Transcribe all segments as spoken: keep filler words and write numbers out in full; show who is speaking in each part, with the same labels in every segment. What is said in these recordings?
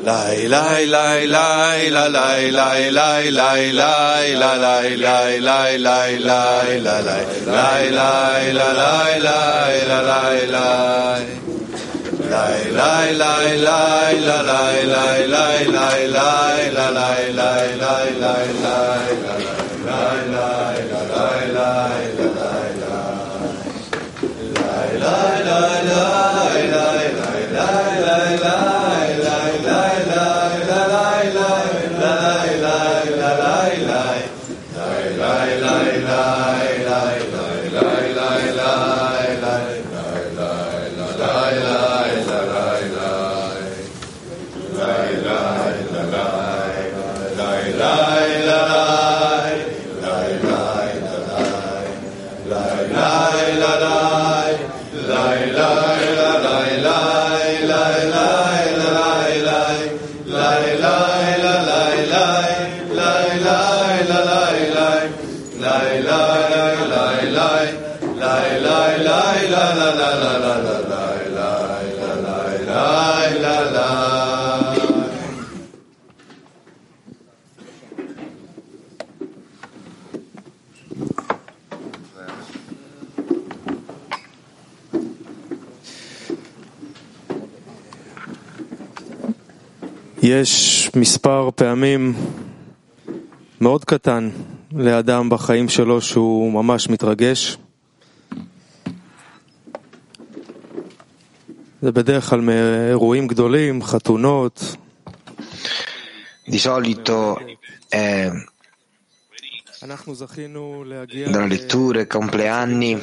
Speaker 1: Lai lai lai lai la lai lai lai lai lai la lai lai lai lai lai la lai lai lai la lai lai la lai lai lai lai lai lai la lai lai lai lai lai la lai lai lai lai lai la lai lai la lai lai la lai lai lai lai lai lai
Speaker 2: יש מספר פעמים מאוד קטן לאדם בחיים שלו שהוא ממש מתרגש. זה בדרך כלל מאירועים גדולים, חתונות.
Speaker 3: Di solito è dalle letture, compleanni,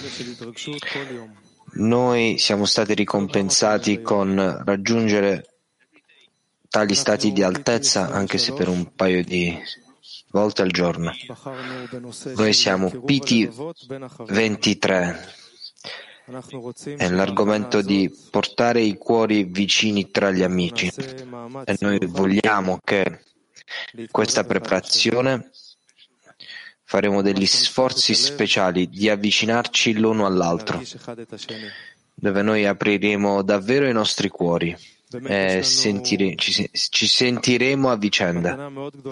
Speaker 3: noi siamo stati ricompensati con raggiungere tali stati di altezza, anche se per un paio di volte al giorno. Noi siamo P T ventitré e l'argomento di portare i cuori vicini tra gli amici, e noi vogliamo che questa preparazione faremo degli sforzi speciali di avvicinarci l'uno all'altro, dove noi apriremo davvero i nostri cuori e sentire, ci, ci sentiremo a vicenda.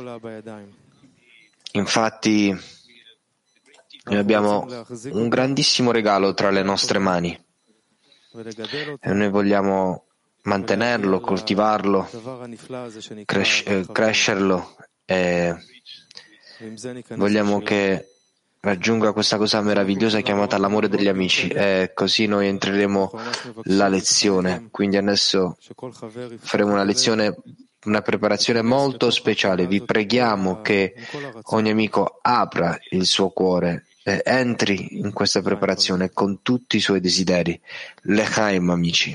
Speaker 3: Infatti noi abbiamo un grandissimo regalo tra le nostre mani e noi vogliamo mantenerlo, coltivarlo, cres- eh, crescerlo e vogliamo che raggiunga questa cosa meravigliosa chiamata l'amore degli amici, e così noi entreremo la lezione. Quindi adesso faremo una lezione, una preparazione molto speciale. Vi preghiamo che ogni amico apra il suo cuore e entri in questa preparazione con tutti i suoi desideri. L'Echaim, amici.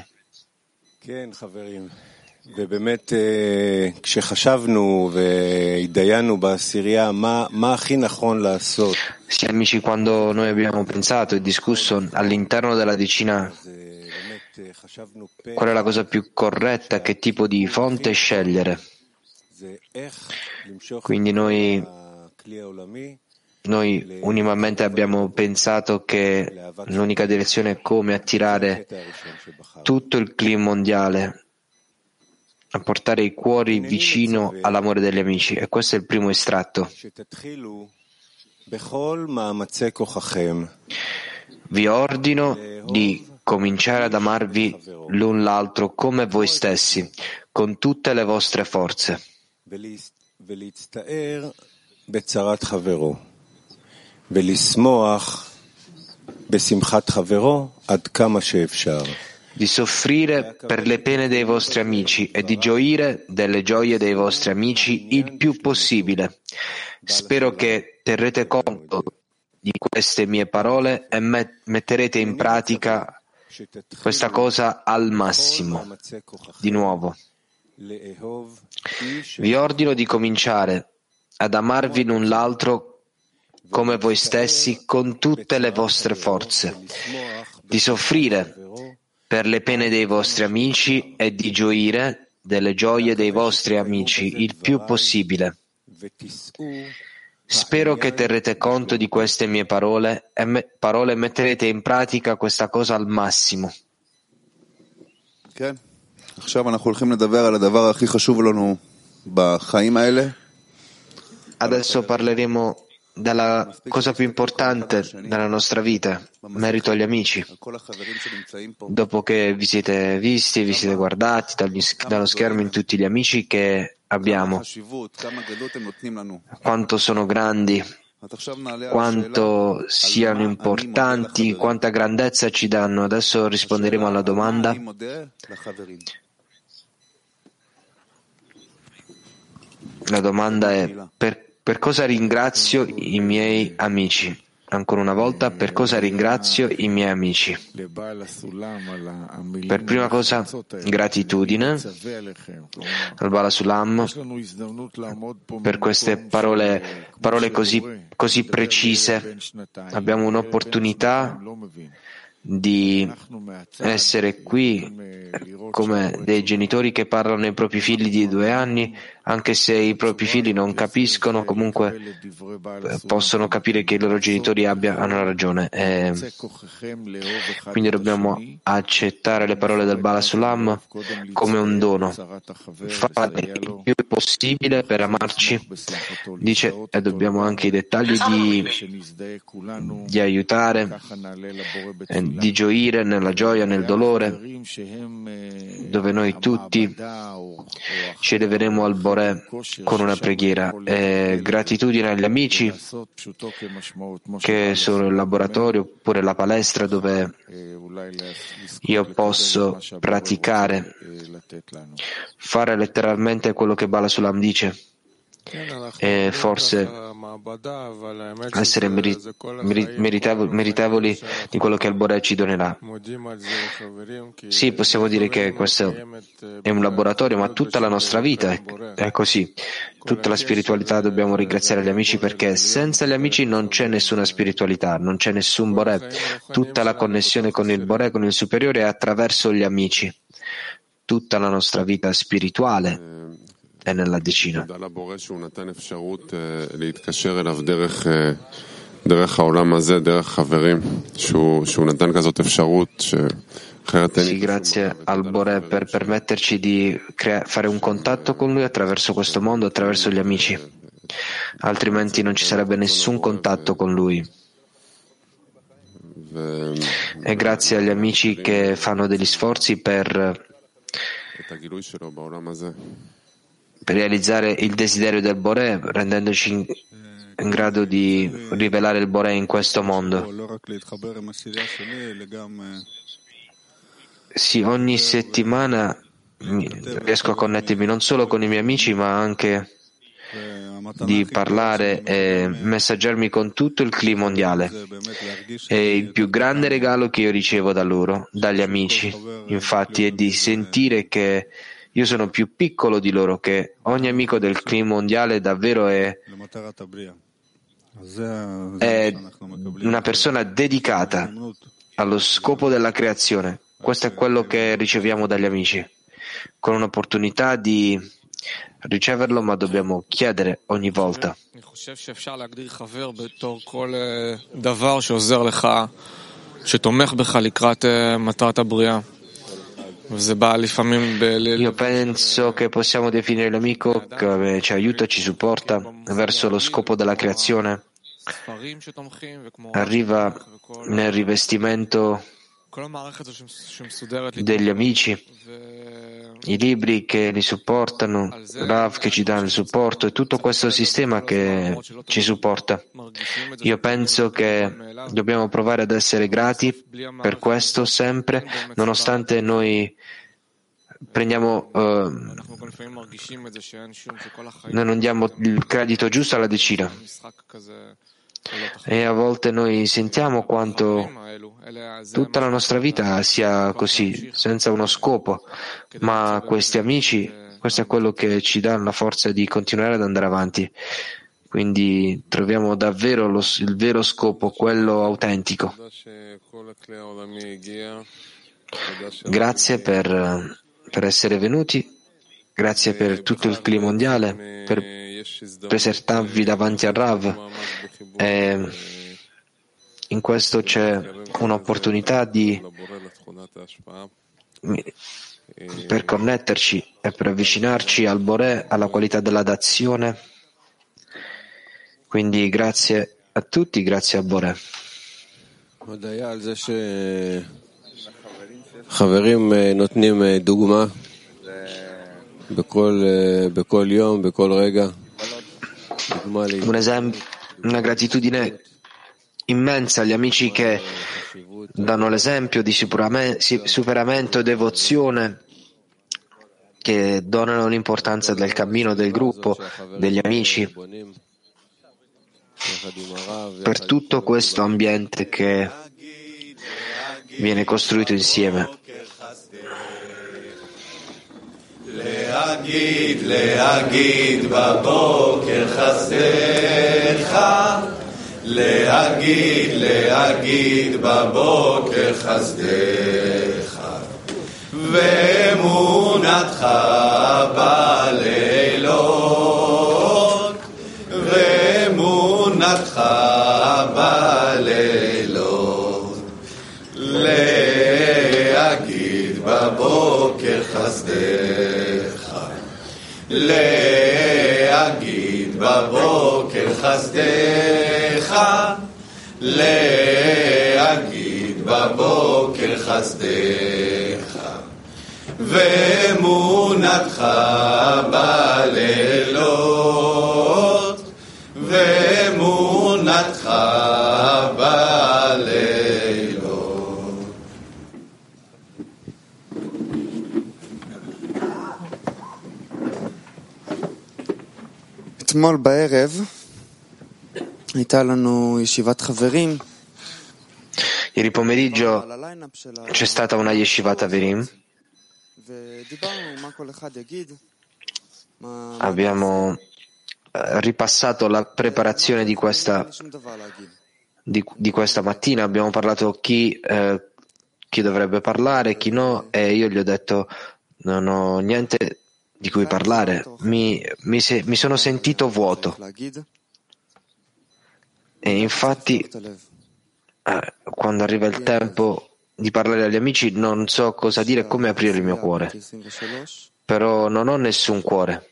Speaker 1: ובאמת כשחשבנו והתדיינו בעשירייה מה מה הכי נכון לעשות.
Speaker 3: Sì, amici, quando noi abbiamo pensato e discusso all'interno della decina qual è la cosa più corretta, che tipo di fonte scegliere, quindi noi noi unanimemente abbiamo pensato che l'unica direzione è come attirare tutto il clima mondiale a portare i cuori vicino all'amore degli amici, e questo è il primo estratto. Vi ordino di cominciare ad amarvi l'un l'altro come voi stessi, con tutte le vostre forze. Di soffrire per le pene dei vostri amici e di gioire delle gioie dei vostri amici il più possibile. Spero che terrete conto di queste mie parole e met- metterete in pratica questa cosa al massimo. Di nuovo, vi ordino di cominciare ad amarvi l'un l'altro come voi stessi con tutte le vostre forze, di soffrire per le pene dei vostri amici e di gioire delle gioie dei vostri amici il più possibile. Spero che terrete conto di queste mie parole e me- parole e metterete in pratica questa cosa al massimo. Adesso parleremo della cosa più importante nella nostra vita, merito agli amici. Dopo che vi siete visti, vi siete guardati dagli, dallo schermo in tutti gli amici che abbiamo, quanto sono grandi, quanto siano importanti, quanta grandezza ci danno. Adesso risponderemo alla domanda. La domanda è per Per cosa ringrazio i miei amici? Ancora una volta, per cosa ringrazio i miei amici? Per prima cosa, gratitudine al Bala Sulam per queste parole, parole così, così precise. Abbiamo un'opportunità di essere qui come dei genitori che parlano ai propri figli di due anni, anche se i propri figli non capiscono, comunque possono capire che i loro genitori abbia, hanno ragione. E quindi dobbiamo accettare le parole del Bala Sulam come un dono, fare il più possibile per amarci, dice, e dobbiamo anche i dettagli di, di aiutare, di gioire nella gioia, nel dolore, dove noi tutti ci eleveremo al Boré con una preghiera. E gratitudine agli amici che sono il laboratorio oppure la palestra dove io posso praticare, fare letteralmente quello che Bala Sulam dice e forse essere meritevoli, meritevoli di quello che il Boré ci donerà. Sì, possiamo dire che questo è un laboratorio, ma tutta la nostra vita è, è così. Tutta la spiritualità dobbiamo ringraziare gli amici, perché senza gli amici non c'è nessuna spiritualità, non c'è nessun Boré. Tutta la connessione con il Boré, con il superiore, è attraverso gli amici. Tutta la nostra vita spirituale è nella decina. Sì, grazie al Boré per permetterci di crea- fare un contatto con lui attraverso questo mondo, attraverso gli amici. Altrimenti non ci sarebbe nessun contatto con lui. E grazie agli amici che fanno degli sforzi per per realizzare il desiderio del Boré, rendendoci in, in grado di rivelare il Boré in questo mondo. Sì, ogni settimana riesco a connettermi non solo con i miei amici, ma anche di parlare e messaggiarmi con tutto il clima mondiale. È il più grande regalo che io ricevo da loro, dagli amici, infatti, è di sentire che io sono più piccolo di loro, che ogni amico del clima mondiale davvero è, è una persona dedicata allo scopo della creazione. Questo è quello che riceviamo dagli amici, con un'opportunità di riceverlo, ma dobbiamo chiedere ogni volta. Io penso che possiamo definire l'amico che ci aiuta, ci supporta verso lo scopo della creazione. Arriva nel rivestimento degli amici, i libri che li supportano, Rav che ci dà il supporto e tutto questo sistema che ci supporta. Io penso che dobbiamo provare ad essere grati per questo sempre, nonostante noi prendiamo, uh, noi non diamo il credito giusto alla decina. E a volte noi sentiamo quanto tutta la nostra vita sia così, senza uno scopo, ma questi amici, questo è quello che ci dà la forza di continuare ad andare avanti. Quindi troviamo davvero lo, il vero scopo, quello autentico. Grazie per, per essere venuti, grazie per tutto il clima mondiale, per presentarvi davanti al Rav. E in questo c'è un'opportunità di per connetterci e per avvicinarci al Boré, alla qualità della dazione. Quindi grazie a tutti, grazie a Boré.
Speaker 1: חברים נותנים דוגמה בכל, בכל יום, בכל רגע.
Speaker 3: Un esempio, una gratitudine immensa agli amici che danno l'esempio di superamento e devozione, che donano l'importanza del cammino del gruppo, degli amici, per tutto questo ambiente che viene costruito insieme.
Speaker 1: להגיד, להגיד בבוקר חסדך, להגיד, להגיד בבוקר חסדך, ואמונתך בלילות, ואמונתך בלילות, להגיד בבוקר חסדך, להגיד בבוקר חסדך, להגיד בבוקר חסדך, ואמונתך בלילות, ואמונתך בלילות.
Speaker 4: אתמול בערב הייתה לנו ישיבת חברים.
Speaker 3: Ieri pomeriggio c'è stata una yeshivat Averim. Abbiamo ripassato la preparazione di questa, di, di questa mattina. Abbiamo parlato chi, eh, chi dovrebbe parlare, chi no, e io gli ho detto non ho niente di cui parlare. Mi, mi, se, mi sono sentito vuoto. E infatti, eh, quando arriva il tempo di parlare agli amici, non so cosa dire e come aprire il mio cuore. Però non ho nessun cuore.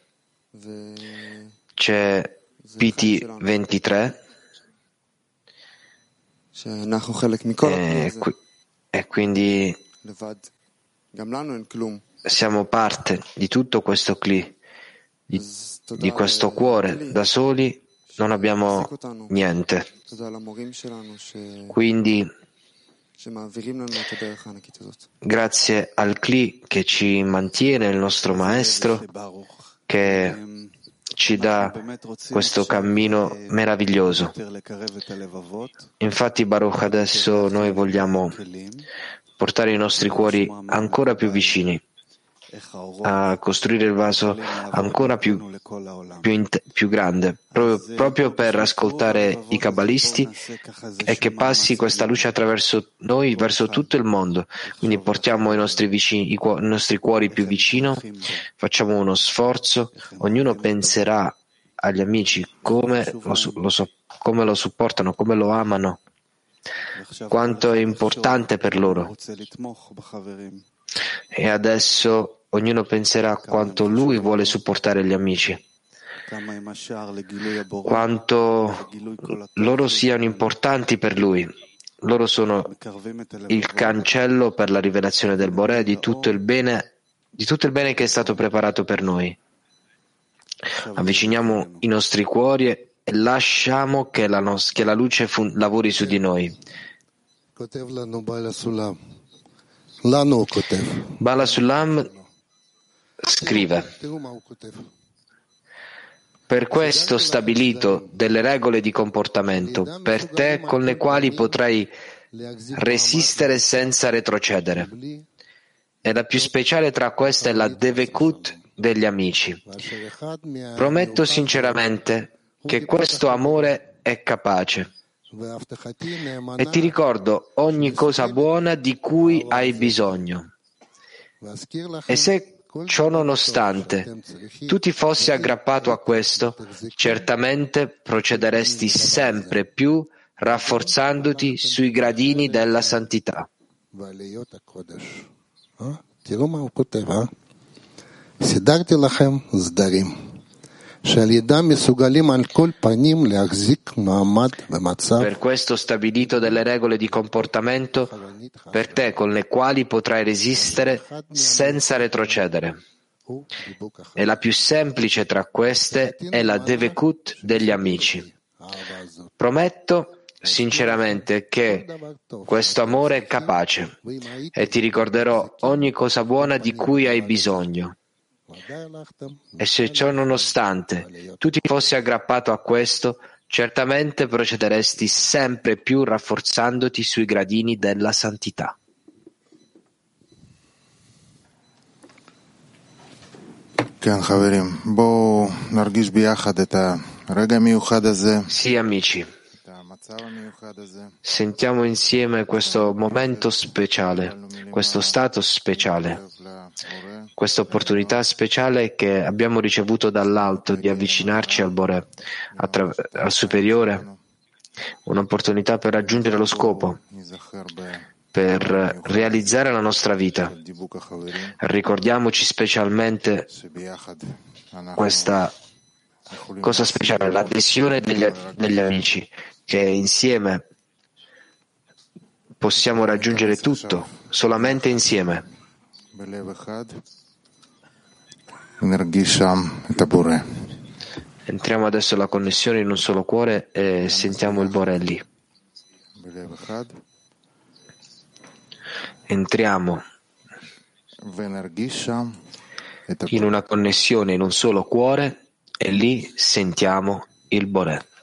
Speaker 3: C'è P T ventitré e, qui, e quindi siamo parte di tutto questo cli, di, di questo cuore. Da soli non abbiamo niente. Quindi grazie al cli che ci mantiene, il nostro maestro, che ci dà questo cammino meraviglioso. Infatti, Baruch, adesso noi vogliamo portare i nostri cuori ancora più vicini, a costruire il vaso ancora più, più, in, più grande, proprio, proprio per ascoltare i kabbalisti e che passi questa luce attraverso noi verso tutto il mondo. Quindi portiamo i nostri, vicini, i, cu- i nostri cuori più vicino, facciamo uno sforzo, ognuno penserà agli amici come lo, lo, so, come lo supportano, come lo amano, quanto è importante per loro. E adesso ognuno penserà quanto lui vuole supportare gli amici, quanto loro siano importanti per lui. Loro sono il cancello per la rivelazione del Boré, di tutto il bene, di tutto il bene che è stato preparato per noi. Avviciniamo i nostri cuori e lasciamo che la, nos- che la luce fun- lavori su di noi. Bala Sulam scrive: per questo ho stabilito delle regole di comportamento per te con le quali potrai resistere senza retrocedere. E la più speciale tra queste è la Devekut degli amici. Prometto sinceramente che questo amore è capace. E ti ricordo ogni cosa buona di cui hai bisogno. E se ciò nonostante tu ti fossi aggrappato a questo, certamente procederesti sempre più rafforzandoti sui gradini della santità.
Speaker 5: תראו מה הוא כותב, אה? סידרתי לכם סדרים, שעל ידם מסוגלים על כל פנים להחזיק מעמד במצב.
Speaker 3: Per questo ho stabilito delle regole di comportamento per te con le quali potrai resistere senza retrocedere. E la più semplice tra queste è la Devekut degli amici. Prometto sinceramente che questo amore è capace e ti ricorderò ogni cosa buona di cui hai bisogno. E se ciò nonostante tu ti fossi aggrappato a questo, certamente procederesti sempre più rafforzandoti sui gradini della santità. Sì, amici, sentiamo insieme questo momento speciale, questo stato speciale, questa opportunità speciale che abbiamo ricevuto dall'alto di avvicinarci al Boré, attra- al superiore, un'opportunità per raggiungere lo scopo, per realizzare la nostra vita. Ricordiamoci specialmente questa cosa speciale, l'adesione degli, degli amici, che insieme possiamo raggiungere tutto, solamente insieme. Entriamo adesso alla connessione in un solo cuore e sentiamo il Boré lì. Entriamo in una connessione in un solo cuore e lì sentiamo il Boré.